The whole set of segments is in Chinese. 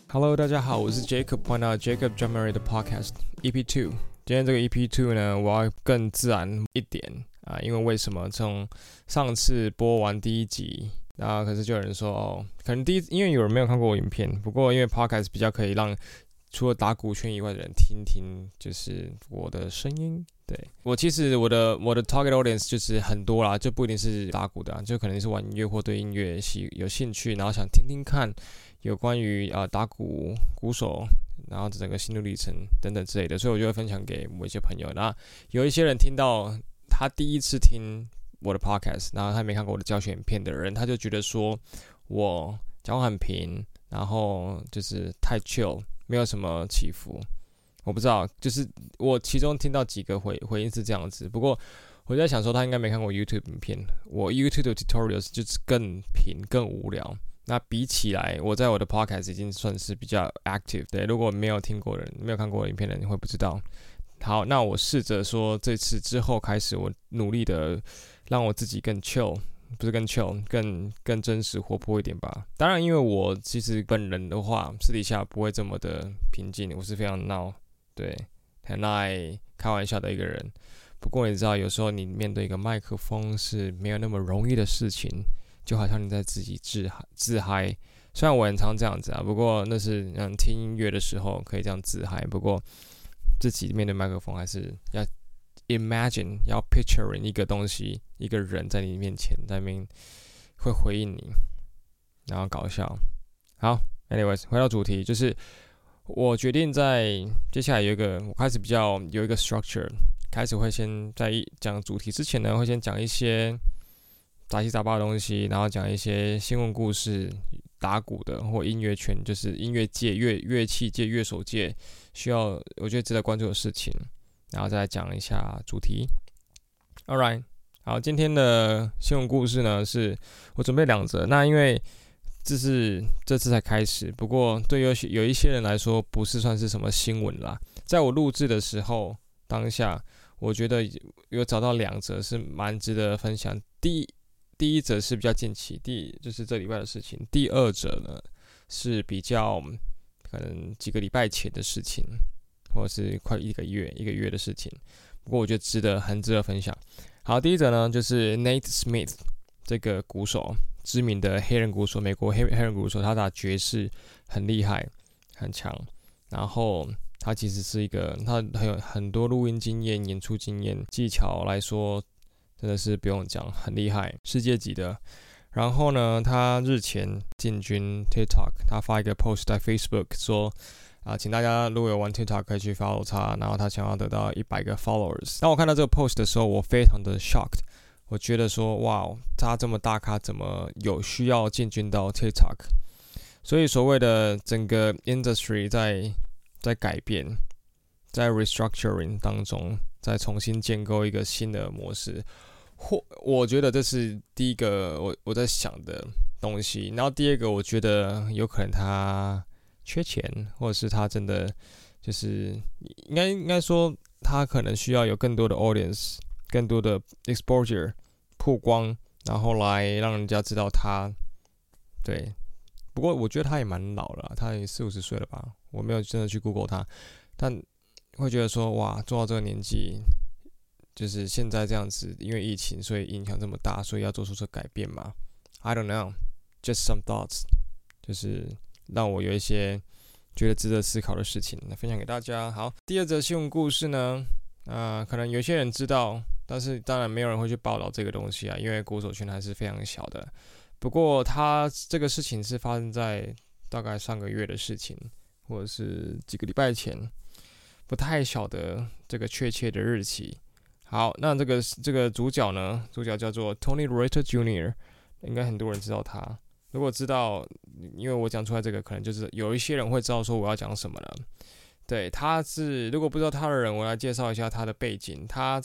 Hello， 大家好，我是 Jacob， 歡迎到 Jacob Drumemory 的 Podcast EP2。今天這個 EP2 呢，我要更自然一點啊，因為什麼？從上次播完第一集，可是就有人說可能因為有人沒有看過我影片，不過因為 Podcast 比較可以讓除了打鼓圈以外的人聽聽，就是我的聲音。對，我其實我的 target audience 就是很多啦，就不一定是打鼓的就可能是玩音樂或對音樂有興趣，然後想聽聽看有關於打鼓手，然後整個心路歷程等等之類的，所以我就會分享給我一些朋友。那有一些人聽到他第一次聽我的 podcast， 然後他沒看過我的教學影片的人，他就覺得說我講話很平，然後就是太 chill， 沒有什麼起伏。我不知道，就是我其中聽到幾個回應是這樣子。不過我在想說，他應該沒看過 YouTube 影片。我 YouTube 的 tutorials 就是更平、更無聊。那比起來，我在我的 podcast 已經算是比較 active。對，如果沒有聽過的人、沒有看過的影片的人，你會不知道。好，那我試着說，這次之後開始，我努力的讓我自己更 chill， 不是更 chill， 更真實、活潑一點吧。當然，因為我其實本人的話，私底下不會這麼的平靜，我是非常鬧。對，很愛開玩笑的一個人。不過你知道，有時候你面對一個麥克風是沒有那麼容易的事情，就好像你在自己自嗨。雖然我很常這樣子不過那是聽音樂的時候可以這樣自嗨。不過自己面對麥克風還是要 imagine， 要 picturing 一個東西，一個人在你面前，在那邊會回應你，然後搞笑。好 ，anyways， 回到主題，就是我決定在接下來我開始比較有一個 structure， 開始會先在講主題之前呢，會先講一些雜七雜八的東西，然後講一些新聞故事、打鼓的或音樂圈，就是音樂界、樂器界、樂手界需要我覺得值得關注的事情，然後再來講一下主題。Alright， 好，今天的新聞故事呢，是我準備2則，那因為這次才開始，不過對有一些人來說不是算是什麼新聞啦。在我錄製的時候，當下我覺得有找到2則是蠻值得分享。第一則是比較近期，就是這禮拜的事情。第2則呢是比較可能幾個禮拜前的事情，或者是快一個月的事情。不過我覺得很值得分享。好，第一則呢就是 Nate Smith 這個鼓手。知名的黑人鼓手，美國黑人鼓手，他打爵士很厲害，很強。然後他其實是他有很多錄音經驗、演出經驗、技巧來說，真的是不用講，很厲害，世界級的。然後呢，他日前進軍 TikTok， 他發一個 post 在 Facebook 說請大家如果有玩 TikTok 可以去 follow 他，然後他想要得到100個 followers。當我看到這個 post 的時候，我非常的 shocked。我覺得說，哇，他這麼大咖，怎麼有需要進軍到 TikTok？ 所以所謂的整個 industry 在改變，在 restructuring 當中，在重新建構一個新的模式。我覺得這是第一個我在想的東西。然後第二個，我覺得有可能他缺錢，或者是他真的就是應該說，他可能需要有更多的 audience。更多的 exposure 曝光，然後來讓人家知道他。對，不過我覺得他也蠻老了，他也40-50歲了吧？我沒有真的去 Google 他，但會覺得說，哇，做到這個年紀，就是現在這樣子，因為疫情，所以影響這麼大，所以要做出這改變嘛 ？I don't know, just some thoughts， 就是讓我有一些覺得值得思考的事情來分享給大家。好，第2則新聞故事呢，可能有些人知道。但是當然沒有人會去報道這個東西因為鼓手圈還是非常小的。不過他這個事情是發生在大概上個月的事情，或者是幾個禮拜前，不太曉得這個確切的日期。好，那這個主角呢，主角叫做 Tony Reuter Jr.， 應該很多人知道他。如果知道，因為我講出來這個，可能就是有一些人會知道說我要講什麼了。對，如果不知道他的人，我來介紹一下他的背景。他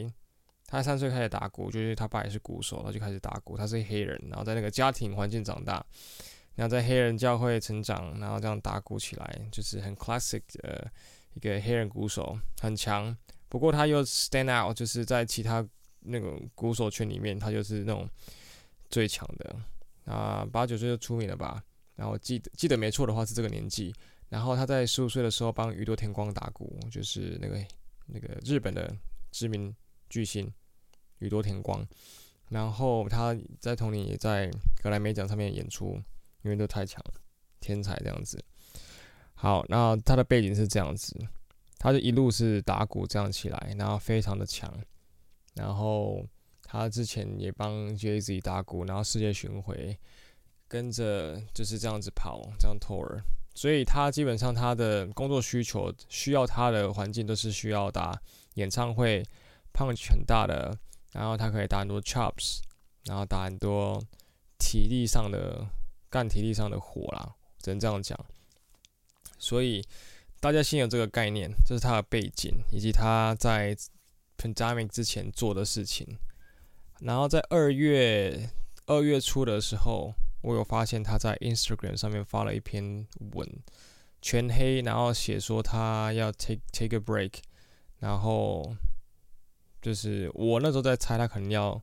3歲開始打鼓，就是他爸也是鼓手，他就開始打鼓。他是黑人，然後在那個家庭環境長大，然後在黑人教會成長，然後這樣打鼓起來，就是很 classic 的一個黑人鼓手，很強。不過他又 stand out， 就是在其他那種鼓手圈裡面，他就是那種最強的。8-9歲就出名了吧？ 然後記得沒錯的話是這個年紀。然後他在15歲的時候幫宇多田光打鼓，就是那個日本的知名巨星宇多田光。然後他在同年也在格萊美獎上面演出，因為都太強了，天才這樣子。好，那他的背景是這樣子，他就一路是打鼓這樣起來，然後非常的強。然後他之前也幫 Jay-Z 打鼓，然後世界巡迴，跟着就是這樣子跑，這樣 tour。所以他基本上他的工作需要他的環境都是需要打演唱會 ，punch 很大的。然後他可以打很多 chops， 然後打很多體力上的活啦，只能這樣講。所以大家先有這個概念，這是他的背景以及他在 pandemic 之前做的事情。然後在2月初的時候，我有發現他在 Instagram 上面發了一篇文，全黑，然後寫說他要 take a break， 然後。就是我那時候在猜，他可能要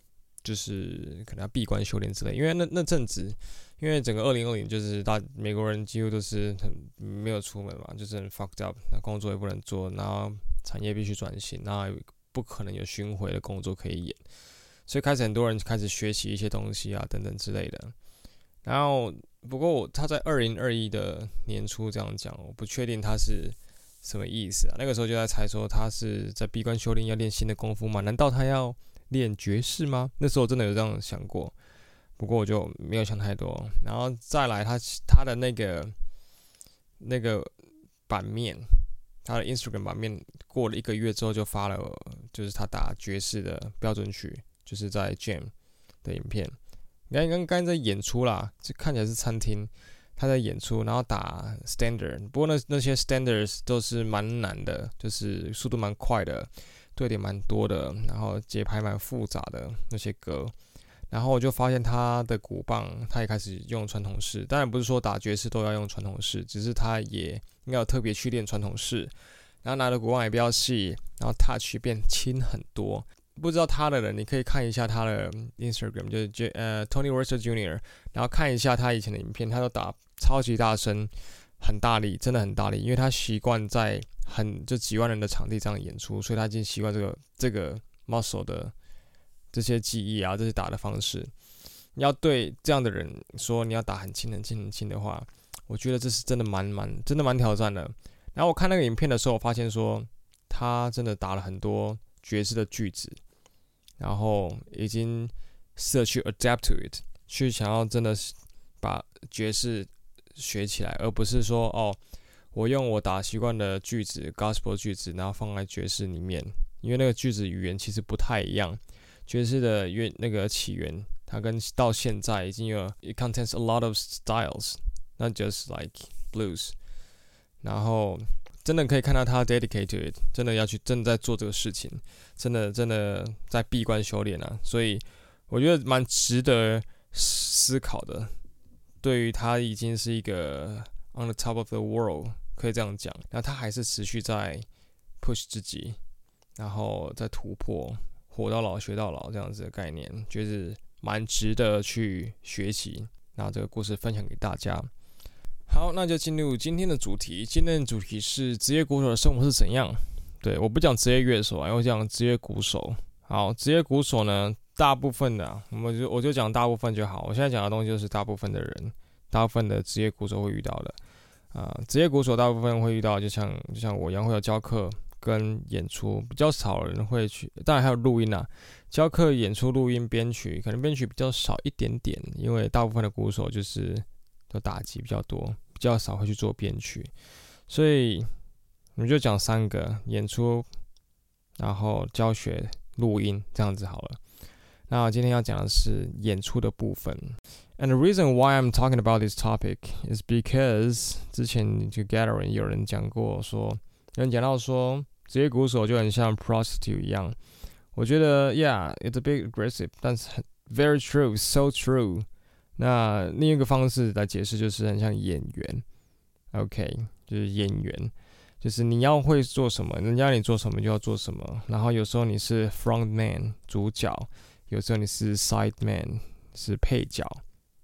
閉關修煉之類，因為那陣子，因為整個2020就是美國人幾乎都是沒有出門嘛，就是很 fucked up， 那工作也不能做，然後產業必須轉型，然後不可能有巡迴的工作可以演，所以很多人開始學習一些東西啊等等之類的。然後不過他在2021的年初這樣講，我不確定他是。什麼意思啊？那個時候就在猜說他是在閉關修煉，要練新的功夫嗎？難道他要練爵士嗎？那時候真的有這樣想過，不過我就沒有想太多。然後再來他的那個版面，他的 Instagram 版面過了1個月之後就發了，就是他打爵士的標準曲，就是在 Jam 的影片。剛在演出啦，就看起來是餐廳。他在演出，然後打 standard， 不過那些 standards 都是蠻難的，就是速度蠻快的，對點蠻多的，然後節拍蠻複雜的那些歌。然後我就發現他的鼓棒，他也開始用傳統式。當然不是說打爵士都要用傳統式，只是他也應該有特別去練傳統式。然後拿的鼓棒也比較細，然後 touch 變輕很多。不知道他的人，你可以看一下他的 Instagram， 就是 Tony Wurster Jr.， 然後看一下他以前的影片，他都打超級大聲，很大力，真的很大力，因為他習慣在就幾萬人的場地這樣演出，所以他已經習慣這個 muscle 的這些記憶啊，這些打的方式。你要對這樣的人說你要打很輕很輕很輕的話，我覺得這是真的蠻挑戰的。然後我看那個影片的時候，我發現說他真的打了很多爵士的句子。然後已經試着去 adapt to it， 去想要真的把爵士學起來，而不是說我用我打習慣的句子 gospel 句子，然後放在爵士裡面，因為那個句子語言其實不太一樣。爵士的那個起源，它跟到現在已經有 it contains a lot of styles， not just like blues。然後真的可以看到他 dedicate to it， 真的在做這個事情，真的在閉關修煉啊，所以我覺得蠻值得思考的。對於他已經是一個 on the top of the world， 可以這樣講，那他還是持續在 push 自己，然後在突破，活到老學到老這樣子的概念，覺得蠻值得去學習。那這個故事分享給大家。好，那就進入今天的主題。今天的主題是職業鼓手的生活是怎樣？對，我不講職業樂手啊，我講職業鼓手。好，職業鼓手呢，大部分的我就講大部分就好。我現在講的東西就是大部分的人，大部分的職業鼓手會遇到的。職業鼓手大部分會遇到，就像我一樣會有教課跟演出，比較少人會去。當然還有錄音啊，教課、演出、錄音、編曲，可能編曲比較少一點點，因為大部分的鼓手就是都打擊比較多，比較少會去做編曲，所以我們就講3個：演出，然後教學、錄音，這樣子好了。那我今天要講的是演出的部分。And the reason why I'm talking about this topic is because 之前這個 gathering 有人講過說，有人講到說職業鼓手就很像 prostitute 一樣。我覺得 yeah it's a bit aggressive， 但是很 very true， so true。那另一個方式來解釋就是很像演員 ，OK， 就是演員，就是你要會做什麼，人家你做什麼就要做什麼。然後有時候你是 front man 主角，有時候你是 side man 是配角，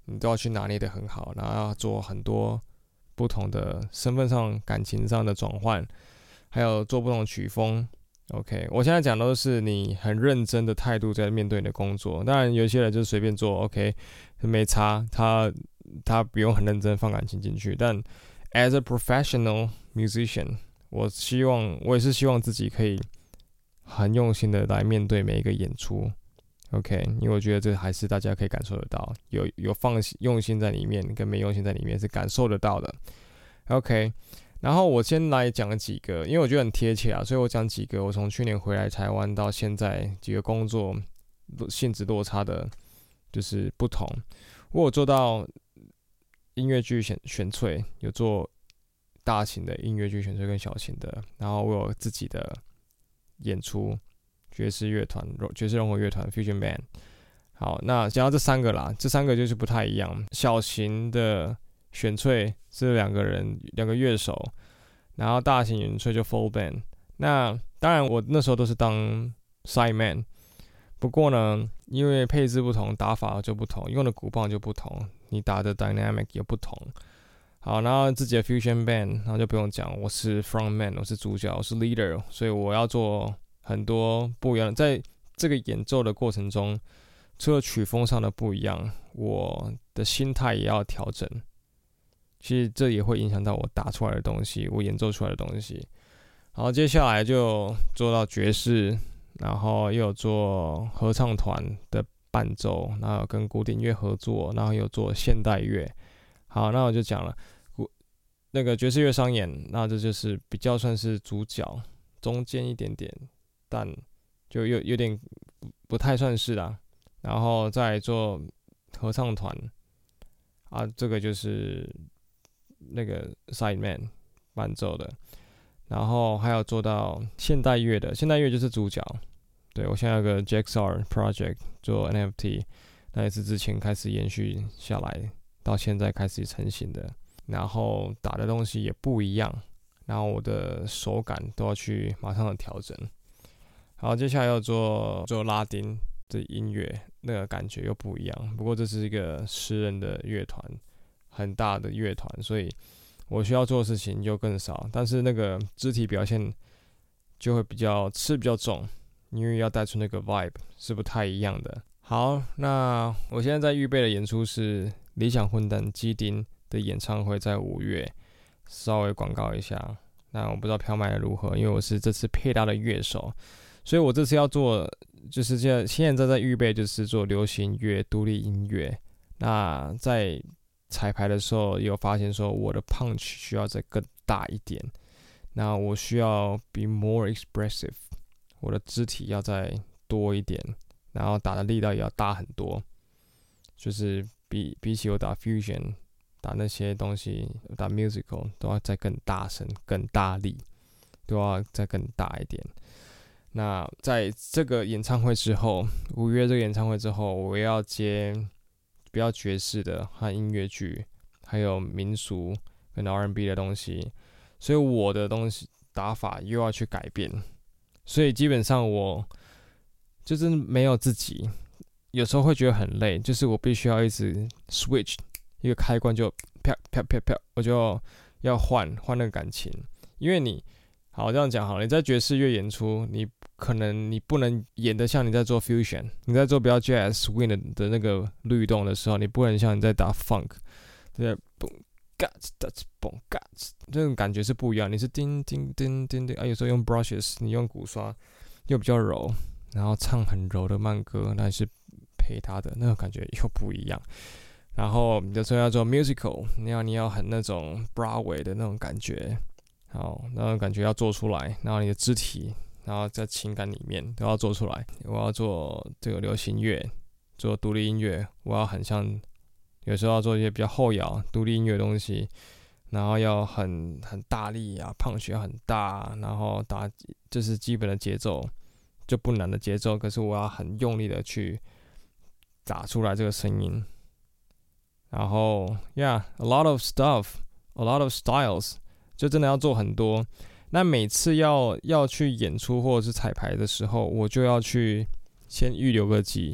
你都要去拿捏得很好，然後要做很多不同的身份上、感情上的轉換，還有做不同的曲風。OK， 我現在講都是你很認真的態度在面對你的工作。當然，有些人就隨便做 ，OK， 沒差，他不用很認真放感情進去。但 as a professional musician， 我也是希望自己可以很用心的來面對每一個演出。OK， 因為我覺得這還是大家可以感受得到，有用心在裡面，跟沒用心在裡面是感受得到的。OK。然後我先來講幾個，因為我覺得很貼切啊，所以我講幾個我從去年回來台灣到現在幾個工作性質落差的，就是不同。我有做到音樂劇選粹，有做大型的音樂劇選粹跟小型的，然後我有自己的演出，爵士樂團、爵士融合樂團 Fusion Band。好，那講到這三個啦，這三個就是不太一樣，小型的選粹是兩個樂手，然後大型選粹就 full band。那當然我那時候都是當 side man， 不過呢，因為配置不同，打法就不同，用的鼓棒就不同，你打的 dynamic 也不同。好，然後自己的 fusion band， 然後就不用講，我是 front man， 我是主角，我是 leader， 所以我要做很多不一樣的，在這個演奏的過程中，除了曲風上的不一樣，我的心態也要調整。其實這也會影響到我打出來的東西，我演奏出來的東西。好，接下來就做到爵士，然後又有做合唱團的伴奏，然後有跟古典樂合作，然後又做現代樂。好，那我就講了，那個爵士樂商演，那這就是比較算是主角，中間一點點，但就有點不太算是啦。然後再來做合唱團，啊，這個就是那個 side man 伴奏的，然後還有做到現代樂的，現代樂就是主角。對，我現在有個 JXR project 做 NFT， 那也是之前開始延續下來，到現在開始成型的。然後打的東西也不一樣，然後我的手感都要去馬上的調整。好，接下來要做拉丁的音樂，那個感覺又不一樣。不過這是一個10人的樂團。很大的樂團，所以我需要做的事情就更少，但是那個肢體表現就會比較重，因為要帶出那個 vibe 是不太一樣的。好，那我現在在預備的演出是理想混蛋基丁的演唱會，在5月，稍微廣告一下。那我不知道票賣的如何，因為我是這次配搭的樂手，所以我這次要做就是現在在預備，就是做流行樂、獨立音樂。那在彩排的時候也有發現說我的 punch 需要再更大一點，那我需要 be more expressive， 我的肢體要再多一點，然後打的力道也要大很多，就是比起我打 fusion 打那些東西，打 musical 都要再更大聲、更大力，都要再更大一點。那在這個演唱會之後，5月這個演唱會之後，我也要接比較爵士的和音樂劇，還有民俗跟 R&B 的東西，所以我的東西打法又要去改變，所以基本上我就是沒有自己，有時候會覺得很累，就是我必須要一直 switch 一個開關就啪啪啪啪，我就要換那個感情，因為你好這樣講好了，你在爵士樂演出，你不能演得像你在做 fusion， 你在做比較 jazz swing 的那個律動的時候，你不能像你在打 funk， 對，嘣嘎呲嘣嘎呲，這種感覺是不一樣。你是叮叮叮叮叮啊，有時候用 brushes， 你用鼓刷又比較柔，然後唱很柔的慢歌，那是陪他的那種感覺又不一樣。然後有時候要做 musical， 你要很那種 Broadway 的那種感覺，好，那種感覺要做出來，然後你的肢體。然後在情感裡面都要做出來。我要做這個流行樂，做獨立音樂，我要很像，有時候要做一些比較後搖獨立音樂的東西，然後要很大力啊，punch要很大，然後打就是基本的節奏，就不難的節奏，可是我要很用力的去打出來這個聲音。然後 ，a lot of stuff, a lot of styles， 就真的要做很多。那每次要去演出或者是彩排的時候，我就要去先預留個幾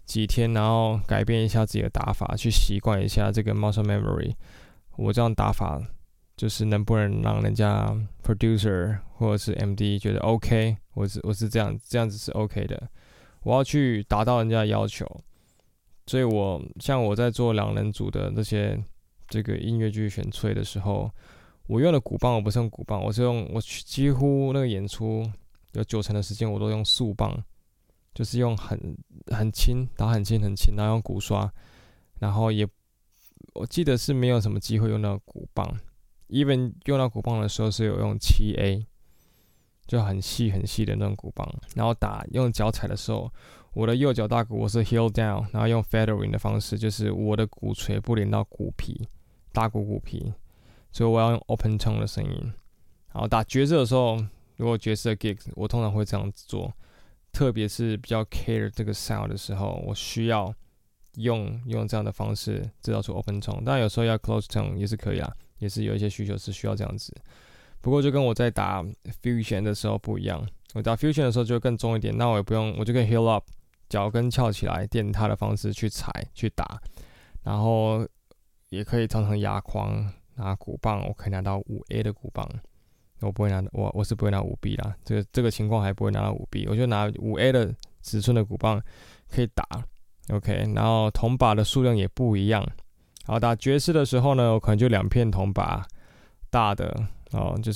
幾天，然後改變一下自己的打法，去習慣一下這個 muscle memory。我這樣打法就是能不能讓人家 producer 或者是 MD 覺得 OK， 我是這樣子是 OK 的。我要去達到人家的要求，所以像我在做兩人組的這個音樂劇選粹的時候，我用的鼓棒我不是用鼓棒，我幾乎那個演出有90%的時間我都用速棒。就是用很輕，打很輕，然後用鼓刷，然後我記得是沒有什麼機會用到鼓棒 ，even 用到鼓棒的時候是有用7A， 就很細的那種鼓棒，然後用腳踩的時候，我的右腳大鼓我是 heel down， 然後用 feathering 的方式，就是我的鼓槌不連到鼓皮，大鼓皮，所以我要用 open tone 的聲音，然後打爵士的時候，如果爵士的 gig， 我通常會這樣子做。特別是比較 care 這個 sound 的時候，我需要用這樣的方式制造出 open tone。當然有時候要 close tone 也是可以啦，也是有一些需求是需要這樣子。不過就跟我在打 fusion 的時候不一樣，我打 fusion 的時候就會更重一點，那我也不用，我就可以 heel up， 腳跟翹起來，墊踏的方式去踩去打，然後也可以常常壓框拿鼓棒，我可以拿到5A 的鼓棒。我不会拿，我是不會拿5B 啦。這個情況還不會拿到5B， 我就拿5A 的尺寸的鼓棒可以打 ，OK。然後銅把的數量也不一樣。然後打爵士的時候呢，我可能就2片銅把大的就是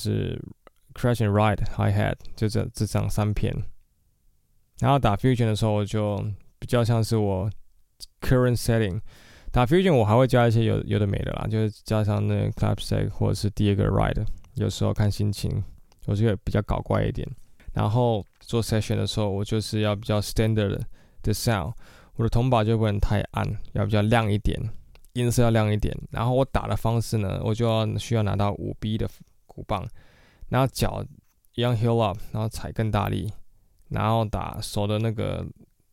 crash and ride hi hat， 就這樣3片。然後打 fusion 的時候，我就比較像是我 current setting。打 fusion 我還會加一些有的沒的啦，就是加上那個 clapsack 或者是第二個 ride。有時候看心情，我就會比較搞怪一點。然後做 session 的時候，我就是要比較 standard 的 sound， 我的銅把就不能太暗，要比較亮一點，音色要亮一點。然後我打的方式呢，我就需要拿到5B 的鼓棒，然後腳一樣 heel up， 然後踩更大力，然後打手的那個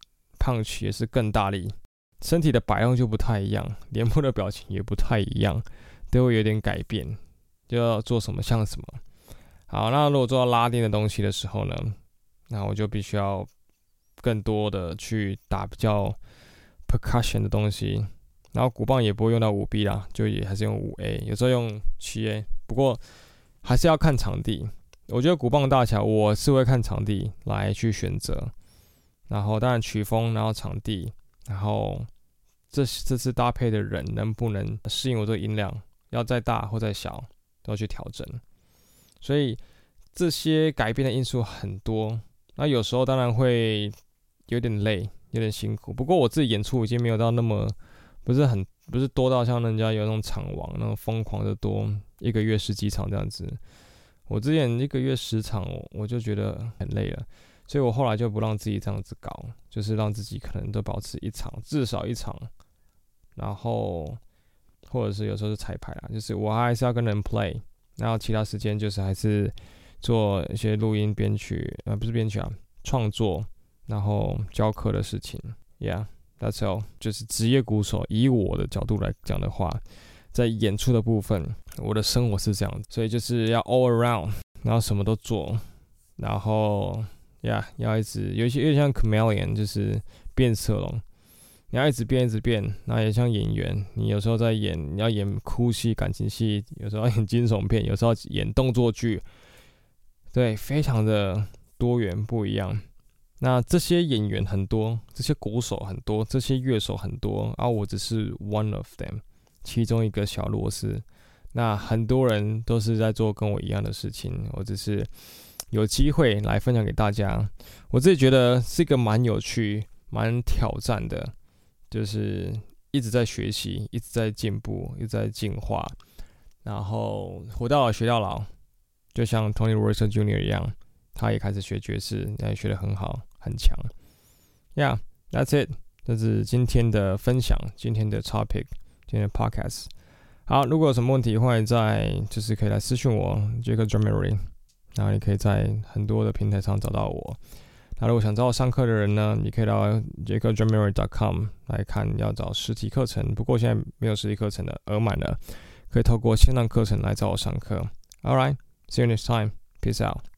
punch 也是更大力，身體的擺動就不太一樣，臉部的表情也不太一樣，都會有點改變。就要做什麼像什麼。好，那如果做到拉丁的東西的時候呢，那我就必須要更多的去打比較 percussion 的東西。然後鼓棒也不會用到5B 啦，就也還是用5A， 有時候用7A。不過還是要看場地。我覺得鼓棒大小我是會看場地來去選擇。然後當然曲風，然後場地，然後這次搭配的人能不能適應我這個音量，要再大或再小。都要去調整，所以這些改變的因素很多。那有時候當然會有點累，有點辛苦。不過我自己演出已經沒有到那麼不是多到像人家有那種場王那種瘋狂的多，1個月10幾場這樣子。我之前1個月10場，我就覺得很累了，所以我後來就不讓自己這樣子搞，就是讓自己可能都保持至少一場，然後。或者是有時候是彩排啦，就是我還是要跟人 play， 然後其他時間就是還是做一些錄音編曲，不是編曲啊，創作，然後教課的事情。Yeah, that's all。就是職業鼓手，以我的角度來講的話，在演出的部分，我的生活是這樣，所以就是要 all around， 然後什麼都做，然後要一直有點像 chameleon， 就是變色龍。你要一直變，然後也像演員，你有時候在演，你要演哭戲、感情戲，有時候要演驚悚片，有時候要演動作劇，對，非常的多元不一樣。那這些演員很多，這些鼓手很多，這些樂手很多，我只是 one of them， 其中一個小螺絲。那很多人都是在做跟我一樣的事情，我只是有機會來分享給大家。我自己覺得是一個蠻有趣、蠻挑戰的。就是一直在學習，一直在進步，一直在進化，然後活到老學到老，就像 Tony Rosser Jr. 一樣，他也開始學爵士，也學得很好，很強。Yeah, that's it。這是今天的分享，今天的 topic， 今天的 podcast。好，如果有什麼問題，歡迎就是可以來私訊我 Jacob Drumemory， 然後你可以在很多的平台上找到我。那如果想找我上課的人呢，你可以到 jacobdrumemory.com 來看要找實體課程，不過現在沒有實體課程了，額滿了，可以透過線上課程來找我上課。Alright, see you next time. Peace out.